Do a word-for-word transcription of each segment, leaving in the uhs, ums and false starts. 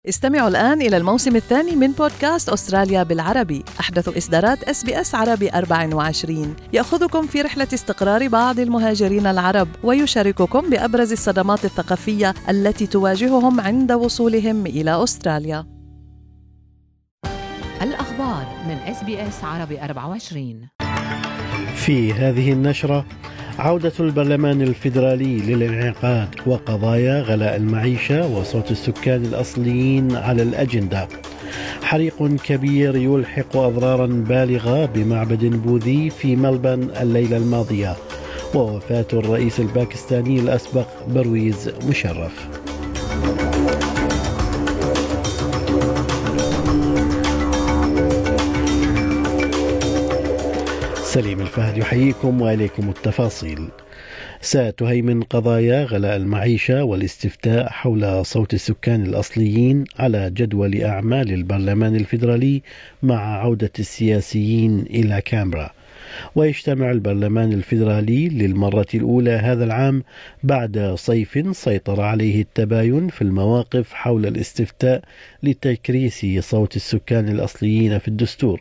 استمعوا الآن إلى الموسم الثاني من بودكاست أستراليا بالعربي، أحدث إصدارات إس بي إس عربي أربعة وعشرين، يأخذكم في رحلة استقرار بعض المهاجرين العرب ويشارككم بأبرز الصدمات الثقافية التي تواجههم عند وصولهم إلى أستراليا. الأخبار من إس بي إس عربي أربعة وعشرين. في هذه النشرة عودة البرلمان الفيدرالي للانعقاد وقضايا غلاء المعيشة وصوت السكان الأصليين على الأجندة. حريق كبير يلحق أضرارا بالغة بمعبد بوذي في ملبن الليلة الماضية، ووفاة الرئيس الباكستاني الأسبق برويز مشرف. سليم الفهد يحييكم وإليكم التفاصيل. ستهيمن قضايا غلاء المعيشة والاستفتاء حول صوت السكان الأصليين على جدول أعمال البرلمان الفيدرالي مع عودة السياسيين إلى كامبرا. ويجتمع البرلمان الفيدرالي للمرة الأولى هذا العام بعد صيف سيطر عليه التباين في المواقف حول الاستفتاء لتكريس صوت السكان الأصليين في الدستور.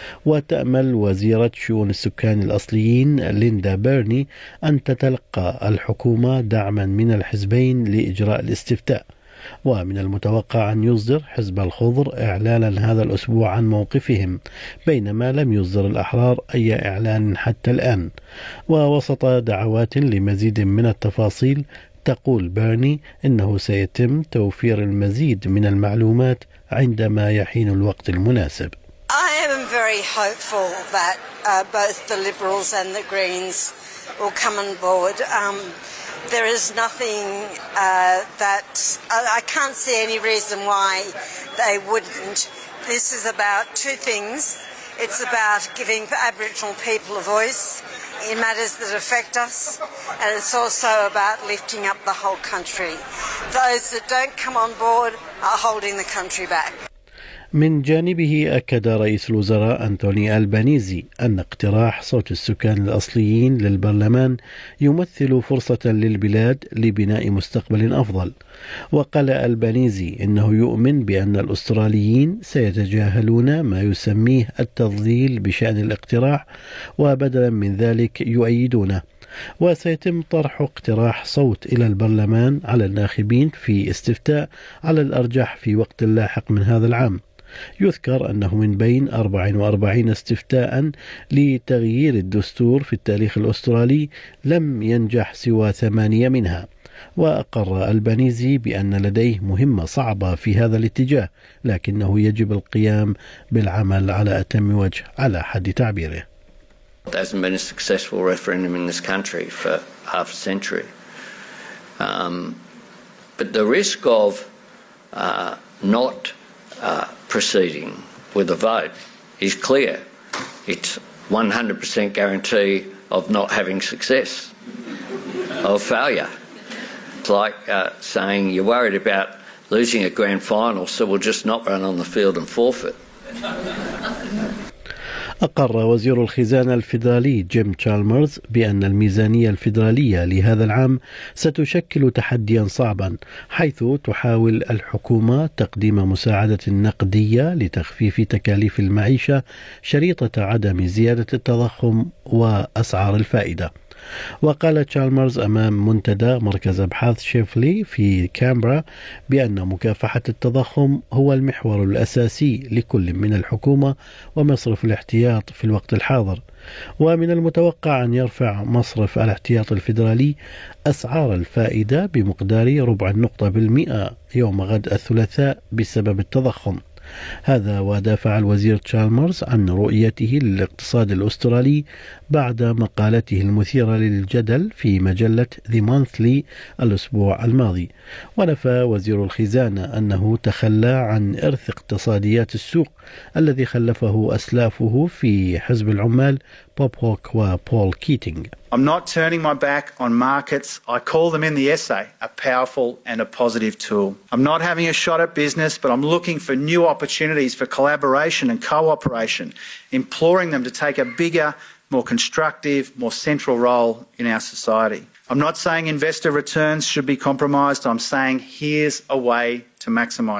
وتأمل وزيرة شؤون السكان الأصليين ليندا بيرني أن تتلقى الحكومة دعما من الحزبين لإجراء الاستفتاء، ومن المتوقع أن يصدر حزب الخضر إعلانا هذا الأسبوع عن موقفهم، بينما لم يصدر الأحرار أي إعلان حتى الآن. ووسط دعوات لمزيد من التفاصيل تقول بيرني إنه سيتم توفير المزيد من المعلومات عندما يحين الوقت المناسب. I am very hopeful that uh, both the Liberals and the Greens will come on board. Um, there is nothing uh, that I, I can't see any reason why they wouldn't. This is about two things. It's about giving Aboriginal people a voice in matters that affect us, and it's also about lifting up the whole country. Those that don't come on board are holding the country back. من جانبه أكد رئيس الوزراء أنتوني ألبانيزي أن اقتراح صوت السكان الأصليين للبرلمان يمثل فرصة للبلاد لبناء مستقبل أفضل. وقال ألبانيزي إنه يؤمن بأن الأستراليين سيتجاهلون ما يسميه التضليل بشأن الاقتراح، وبدلا من ذلك يؤيدونه. وسيتم طرح اقتراح صوت إلى البرلمان على الناخبين في استفتاء على الأرجح في وقت لاحق من هذا العام. يذكر أنه من بين أربع وأربعين استفتاء لتغيير الدستور في التاريخ الأسترالي لم ينجح سوى ثمانية منها. وأقر ألبانيزي بأن لديه مهمة صعبة في هذا الاتجاه، لكنه يجب القيام بالعمل على أتم وجه على حد تعبيره. There hasn't been a successful referendum in this country for half a century. Um, but the risk of uh, not uh, proceeding with a vote is clear. It's one hundred percent guarantee of not having success, of failure. It's like uh, saying you're worried about losing a grand final, so we'll just not run on the field and forfeit. أقر وزير الخزانة الفيدرالي جيم تشالمرز بأن الميزانية الفيدرالية لهذا العام ستشكل تحديا صعبا، حيث تحاول الحكومة تقديم مساعدة نقدية لتخفيف تكاليف المعيشة شريطة عدم زيادة التضخم وأسعار الفائدة. وقال تشالمرز أمام منتدى مركز أبحاث شيفلي في كامبرا بأن مكافحة التضخم هو المحور الأساسي لكل من الحكومة ومصرف الاحتياط في الوقت الحاضر. ومن المتوقع أن يرفع مصرف الاحتياط الفيدرالي أسعار الفائدة بمقدار ربع النقطة بالمئة يوم غد الثلاثاء بسبب التضخم. هذا ودافع الوزير تشالمرز عن رؤيته للاقتصاد الأسترالي بعد مقالته المثيرة للجدل في مجلة The Monthly الأسبوع الماضي. ونفى وزير الخزانة أنه تخلى عن إرث اقتصاديات السوق الذي خلفه أسلافه في حزب العمال بوب هوك وبول كيتينغ. I'm not turning my back on markets. I call them in the essay a powerful and a positive tool. I'm not having a shot at business, but I'm looking for new opportunities for collaboration and cooperation, imploring them to take a bigger, more constructive, more central role in our society. I'm not saying investor returns should be compromised. I'm saying here's a way to maximise them.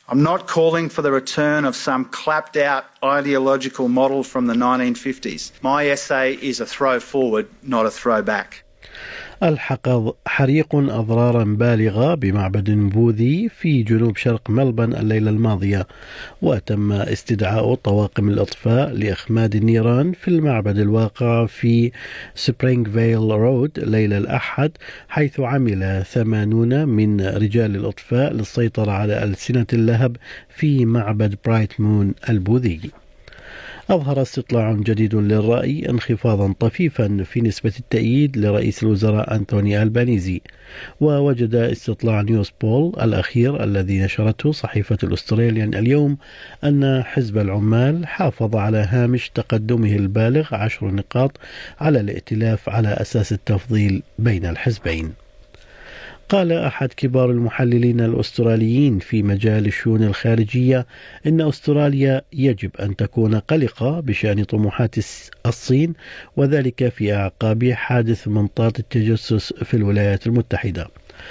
I'm not calling for the return of some clapped-out ideological model from the nineteen fifties. My essay is a throw forward, not a throw back. ألحق حريق أضرارا بالغة بمعبد بوذي في جنوب شرق ملبن الليلة الماضية، وتم استدعاء طواقم الإطفاء لإخماد النيران في المعبد الواقع في سبرينغفيل رود ليلة الأحد، حيث عمل ثمانون من رجال الإطفاء للسيطرة على ألسنة اللهب في معبد برايت مون البوذي. أظهر استطلاع جديد للرأي انخفاضا طفيفا في نسبة التأييد لرئيس الوزراء أنتوني ألبانيزي، ووجد استطلاع نيوز بول الأخير الذي نشرته صحيفة الأستراليان اليوم أن حزب العمال حافظ على هامش تقدمه البالغ عشر نقاط على الائتلاف على أساس التفضيل بين الحزبين. قال أحد كبار المحللين الأستراليين في مجال الشؤون الخارجية إن أستراليا يجب أن تكون قلقة بشأن طموحات الصين، وذلك في أعقاب حادث منطاد التجسس في الولايات المتحدة.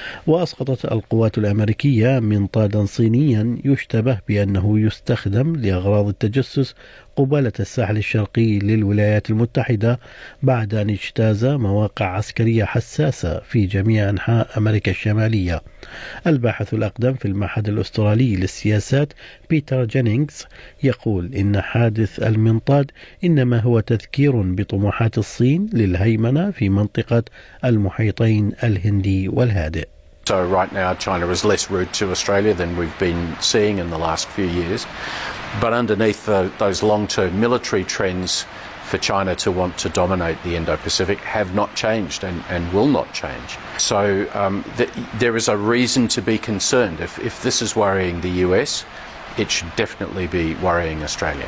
وأسقطت القوات الأمريكية منطادا صينيا يشتبه بأنه يستخدم لأغراض التجسس قبالة الساحل الشرقي للولايات المتحدة بعد أن اجتاز مواقع عسكرية حساسة في جميع أنحاء أمريكا الشمالية. الباحث الأقدم في المعهد الأسترالي للسياسات بيتر جينينغز يقول إن حادث المنطاد إنما هو تذكير بطموحات الصين للهيمنة في منطقة المحيطين الهندي والهادئ. So right now China is less rude to Australia than we've been seeing in the last few years. But underneath the, those long-term military trends for China to want to dominate the Indo-Pacific have not changed and, and will not change. So um, th there is a reason to be concerned. If, if this is worrying the U S, it should definitely be worrying Australia.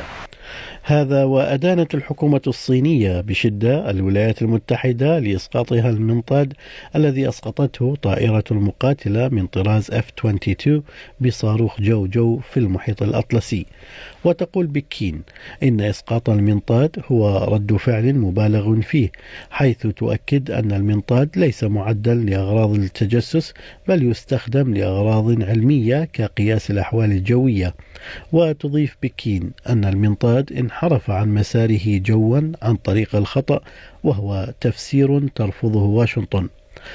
هذا وأدانت الحكومة الصينية بشدة الولايات المتحدة لإسقاطها المنطاد الذي أسقطته طائرة المقاتلة من طراز إف اثنين وعشرين بصاروخ جو جو في المحيط الأطلسي. وتقول بكين إن إسقاط المنطاد هو رد فعل مبالغ فيه، حيث تؤكد أن المنطاد ليس معدا لأغراض التجسس بل يستخدم لأغراض علمية كقياس الأحوال الجوية. وتضيف بكين أن المنطاد انحرف عن مساره جوا عن طريق الخطأ، وهو تفسير ترفضه واشنطن.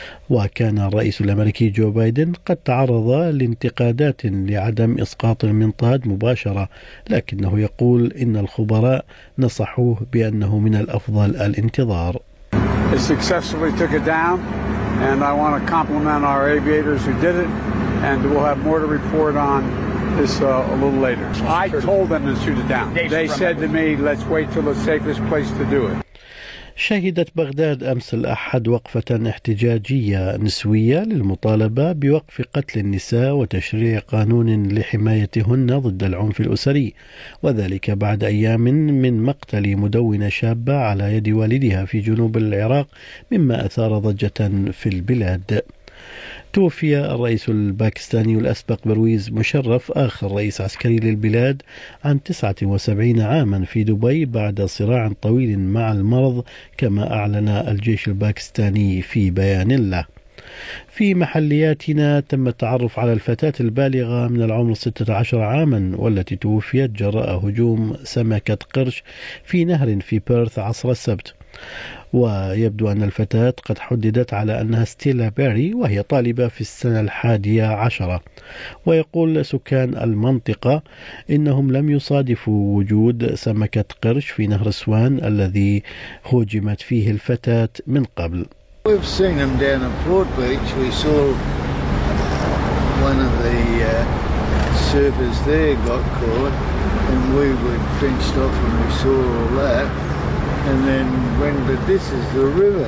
وكان الرئيس الأمريكي جو بايدن قد تعرض لانتقادات لعدم إسقاط المنطاد مباشرة، لكنه يقول إن الخبراء نصحوه بأنه من الأفضل الانتظار. It successfully took it down, and I want to compliment our aviators who did it, and we'll have more to report on this uh, a little later. I told them to shoot it down. They said to me, let's wait till the safest place to do it. شهدت بغداد أمس الأحد وقفة احتجاجية نسوية للمطالبة بوقف قتل النساء وتشريع قانون لحمايتهن ضد العنف الأسري، وذلك بعد أيام من مقتل مدونة شابة على يد والدها في جنوب العراق، مما أثار ضجة في البلاد. توفي الرئيس الباكستاني الأسبق برويز مشرف آخر رئيس عسكري للبلاد عن تسعة وسبعين عاما في دبي بعد صراع طويل مع المرض، كما أعلن الجيش الباكستاني في بيان له. في محلياتنا تم التعرف على الفتاة البالغة من العمر ستة عشر عاما والتي توفيت جراء هجوم سمكة قرش في نهر في بيرث عصر السبت. ويبدو أن الفتاة قد حددت على أنها ستيلا بيري، وهي طالبة في السنة الحادية عشرة. ويقول سكان المنطقة إنهم لم يصادفوا وجود سمكة قرش في نهر سوان الذي هجمت فيه الفتاة من قبل. We've seen them down at Port Beach. We saw one of the uh, surfers there got caught, and we were fenced off and we saw all that. And then when, but this is the river,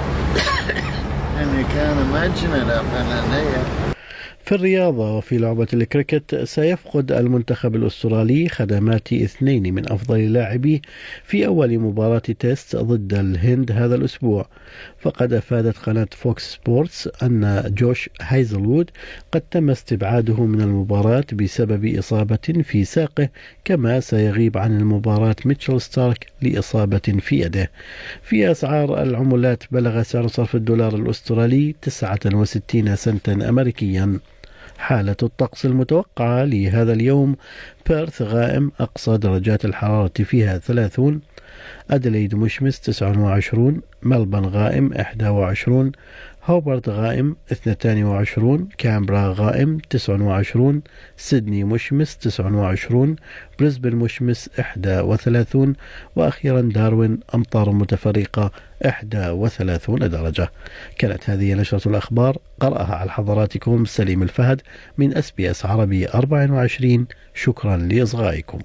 and you can't imagine it up in there. في الرياضة وفي لعبة الكريكت، سيفقد المنتخب الأسترالي خدمات اثنين من أفضل لاعبيه في أول مباراة تيست ضد الهند هذا الأسبوع. فقد أفادت قناة فوكس سبورتس أن جوش هايزلوود قد تم استبعاده من المباراة بسبب إصابة في ساقه، كما سيغيب عن المباراة ميتشل ستارك لإصابة في يده. في أسعار العملات بلغ سعر صرف الدولار الأسترالي تسعة وستين سنتا أمريكيا. حالة الطقس المتوقعة لهذا اليوم: بيرث غائم أقصى درجات الحرارة فيها ثلاثون، أدليد مشمس تسعة وعشرون، ملبن غائم إحدى وعشرون، هوبرت غائم اثنتين وعشرون، كامبرا غائم تسعة وعشرون، سيدني مشمس تسعة وعشرون، بريسبن مشمس إحدى وثلاثون، وأخيرا داروين أمطار متفرقة إحدى وثلاثون درجة. كانت هذه نشرة الأخبار، قرأها على حضراتكم سليم الفهد من إس بي إس عربي أربعة وعشرين. شكرا لإصغائكم.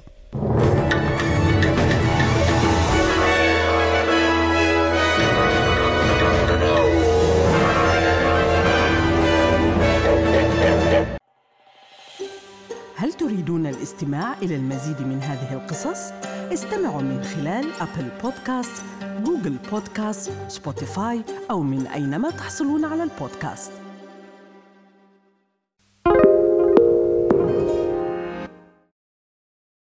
هل تريدون الاستماع إلى المزيد من هذه القصص؟ استمعوا من خلال أبل بودكاست، جوجل بودكاست، سبوتيفاي أو من أينما تحصلون على البودكاست.